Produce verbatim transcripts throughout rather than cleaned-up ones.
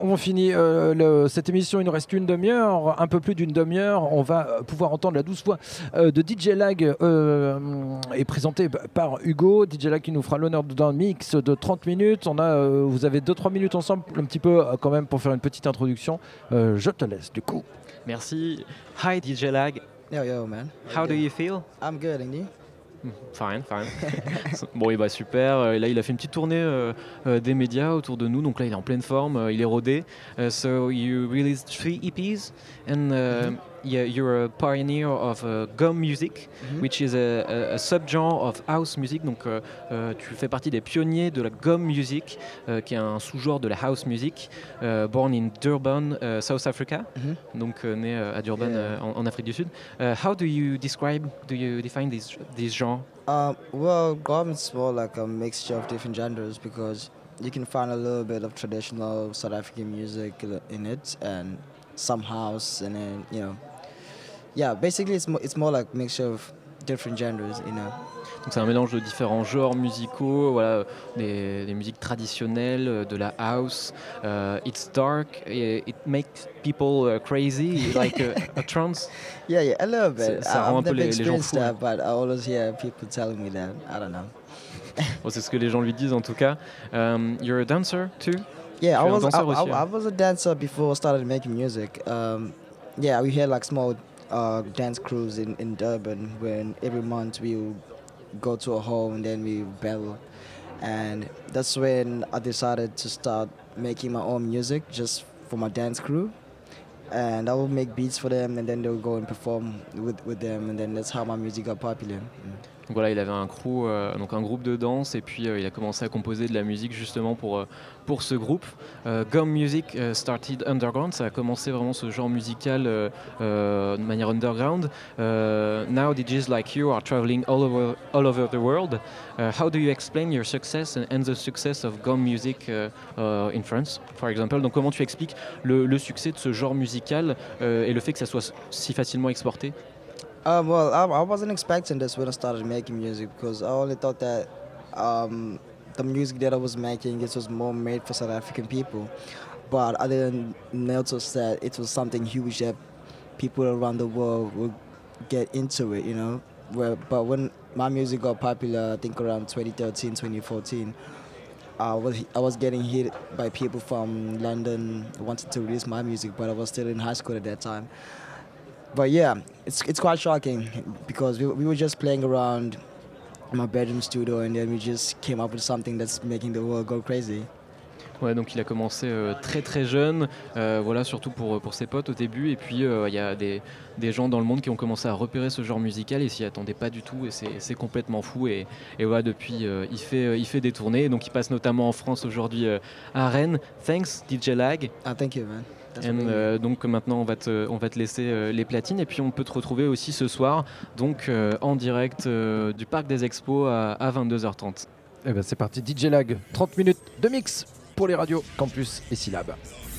On finit euh, le, cette émission, il nous reste une demi-heure, un peu plus d'une demi-heure. On va pouvoir entendre la douce voix euh, de D J Lag euh, et présentée par Hugo. D J Lag qui nous fera l'honneur d'un mix de trente minutes. On a, euh, vous avez deux trois minutes ensemble, un petit peu euh, quand même pour faire une petite introduction. Euh, je te laisse du coup. Merci. Hi D J Lag. Yo, yo, man. How do you feel? I'm good, and you? Fine, fine. Bon, et bah super. Et là, il a fait une petite tournée euh, euh, des médias autour de nous. Donc là, il est en pleine forme. Euh, il est rodé. Uh, so you released three E Ps, and uh, mm-hmm. yeah, you're a pioneer of uh, gum music, mm-hmm. which is a, a, a subgenre of house music. Donc, euh, euh, tu fais partie des pionniers de la gum music, euh, qui est un sous-genre de la house music, uh, born in Durban, uh, South Africa. Mm-hmm. Donc, euh, né euh, à Durban, yeah. euh, en, en Afrique du Sud. Uh, how do you describe, do you define these these genres? Um, well, gum is more like a mixture of different genres because you can find a little bit of traditional South African music in it and some house, and then, you know, yeah, basically it's more, it's more like a mixture of different genres, you know. Donc c'est un mélange de différents genres musicaux, voilà, des, des musiques traditionnelles, de la house. Uh, it's dark, it makes people uh, crazy, like a, a trance. Yeah, yeah, a little bit. Ça rend un peu les, les gens fous. That, but I always hear people telling me that. I don't know. Bon, c'est ce que les gens lui disent en tout cas. Um, you're a dancer too? Yeah, I was, I, I, I was a dancer before I started making music. Um, yeah, we had like small uh, dance crews in, in Durban when every month we would go to a hall and then we battle, and that's when I decided to start making my own music just for my dance crew, and I would make beats for them and then they would go and perform with, with them, and then that's how my music got popular. Mm. Donc voilà, il avait un crew, euh, donc un groupe de danse, et puis euh, il a commencé à composer de la musique justement pour, euh, pour ce groupe. Uh, Gum Music uh, started underground, ça a commencé vraiment ce genre musical euh, euh, de manière underground. Uh, now D Js like you are traveling all over, all over the world. Uh, how do you explain your success and, and the success of Gum Music uh, uh, in France, for example? Donc comment tu expliques le, le succès de ce genre musical euh, et le fait que ça soit si facilement exporté? Um, well, I, I wasn't expecting this when I started making music because I only thought that um, the music that I was making, it was more made for South African people. But I didn't notice that it was something huge that people around the world would get into it, you know. Where, but when my music got popular, I think around twenty thirteen, twenty fourteen, I was, I was getting hit by people from London wanting to release my music, but I was still in high school at that time. But yeah, it's it's quite shocking because we we were just playing around in my bedroom studio and then we just came up with something that's making the world go crazy. Ouais, donc il a commencé euh, très très jeune, euh, voilà, surtout pour, pour ses potes au début, et puis il euh, y a des, des gens dans le monde qui ont commencé à repérer ce genre musical et s'y attendaient pas du tout, et c'est, c'est complètement fou, et, et voilà, depuis euh, il, fait, euh, il fait des tournées, donc il passe notamment en France aujourd'hui euh, à Rennes. Thanks D J Lag. Ah, thank you man. Et euh, donc maintenant on va te, on va te laisser euh, les platines, et puis on peut te retrouver aussi ce soir donc euh, en direct euh, du Parc des Expos à, à vingt-deux heures trente. Et ben c'est parti, D J Lag, trente minutes de mix pour les radios Campus et Syllab.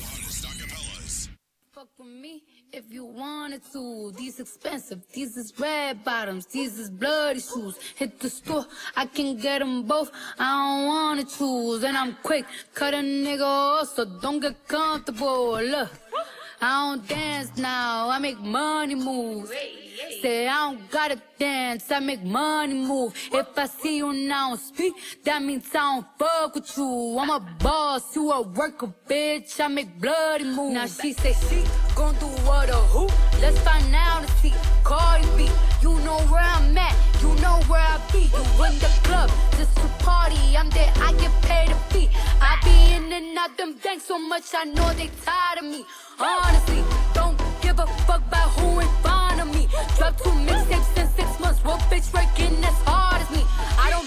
If you wanted to, these expensive, these is red bottoms, these is bloody shoes. Hit the store, I can get them both, I don't wanna choose. And I'm quick, cut a nigga off, so don't get comfortable. Look, I don't dance now, I make money move. Say I don't gotta dance, I make money move. If I see you now speak, that means I don't fuck with you. I'm a boss, you a worker, bitch, I make bloody moves. Now she say she gon' do what or who? Let's find out and see. Cardi B, you know where I'm at, you know where I be. You in the club, just to party, I'm there, I get paid a fee. I be in and out them banks so much, I know they tired of me. Honestly, don't give a fuck about who in front of me. Drop two mixtapes in six months, what bitch working as hard as me? I don't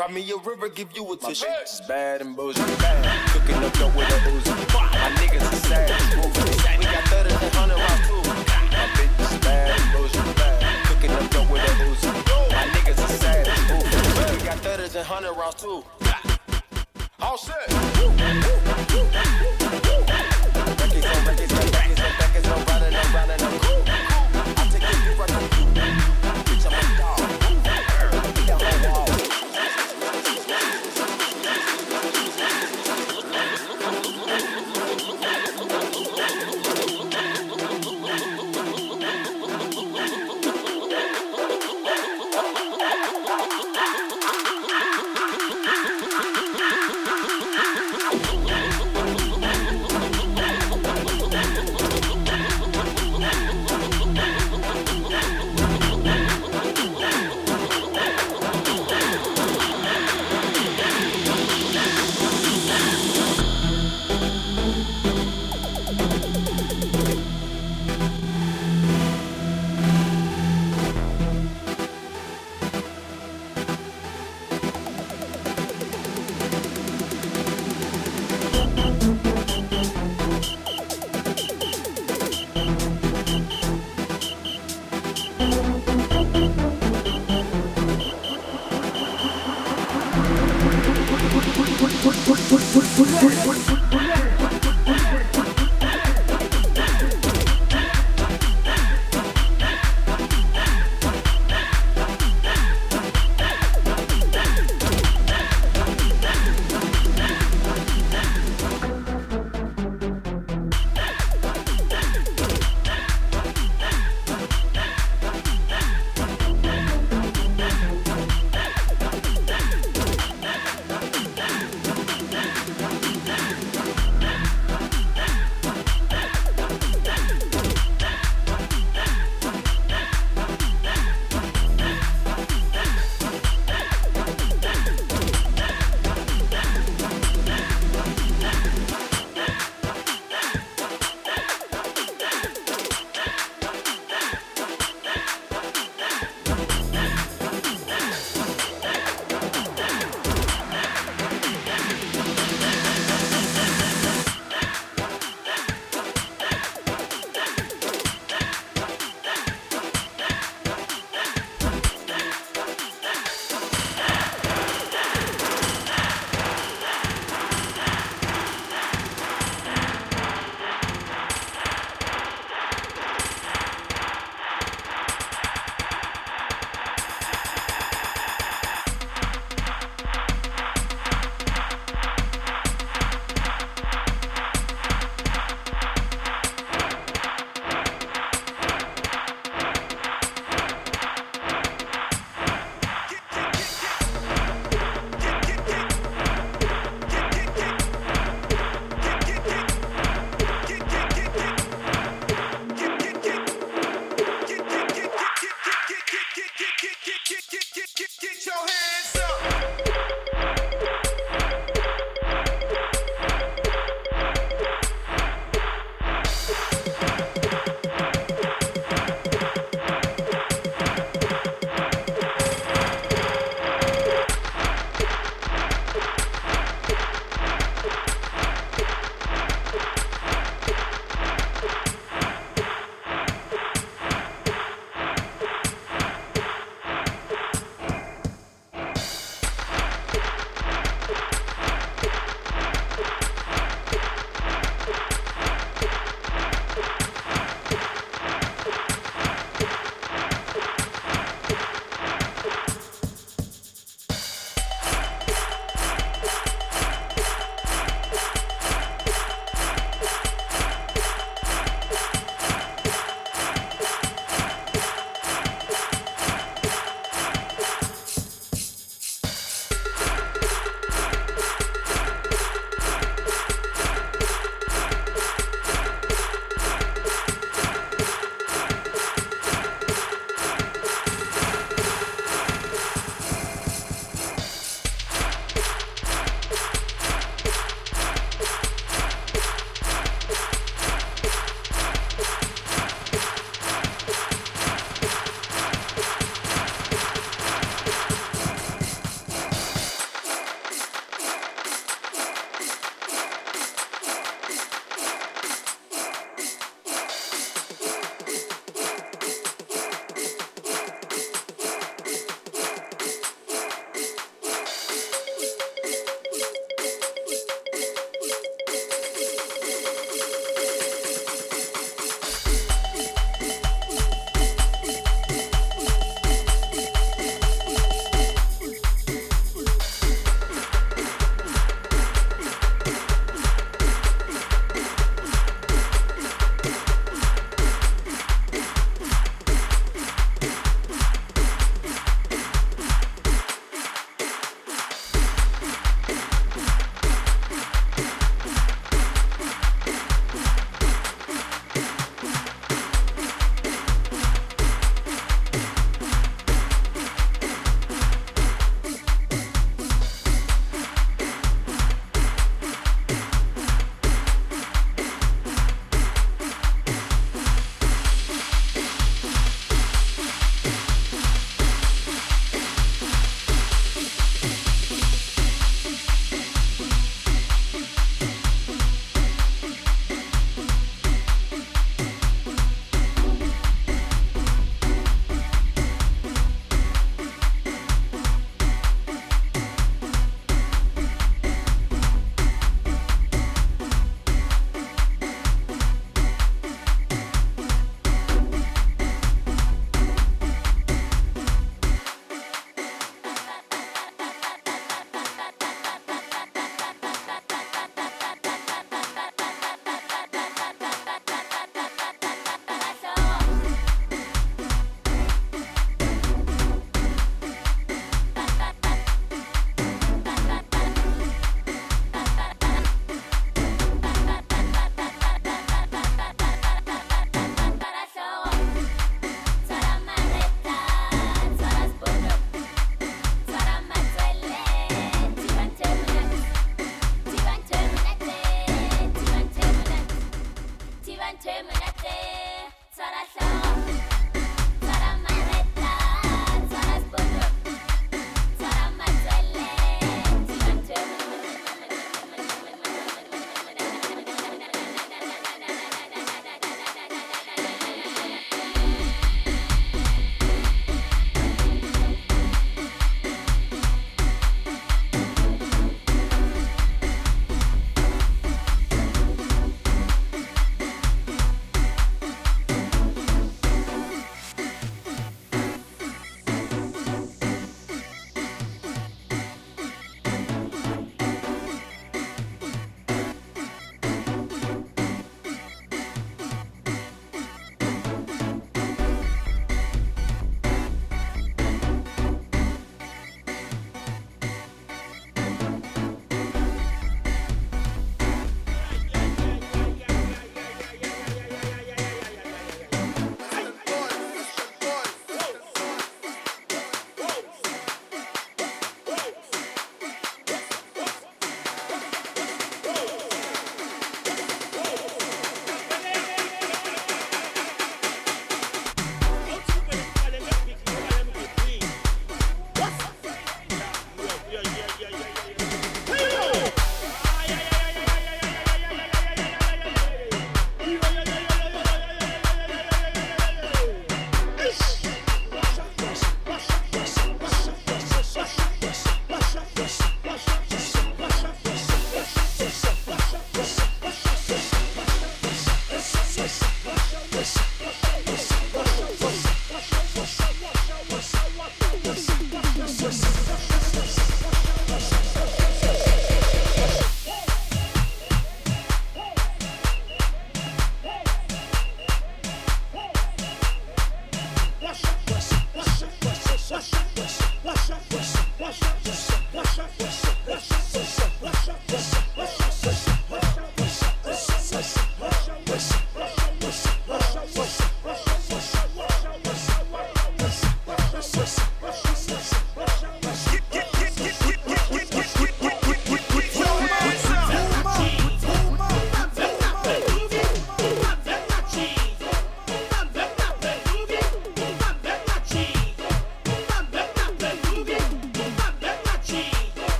Cry me a river, give you a tissue. My bitch is bad and bullshit. Bad. Cooking up dope with a Uzi. My niggas is sad. We got thudders and hundred rounds too. My bitch is bad and bullshit. Bad. Cooking up dope with a Uzi. My niggas is sad. We got thudders and hundred rounds too. All set. Records on records on records on records on running on running on cool. I take it you right on you. Bitch, I'm a dog. Down the wall.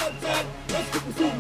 attack. Let's get this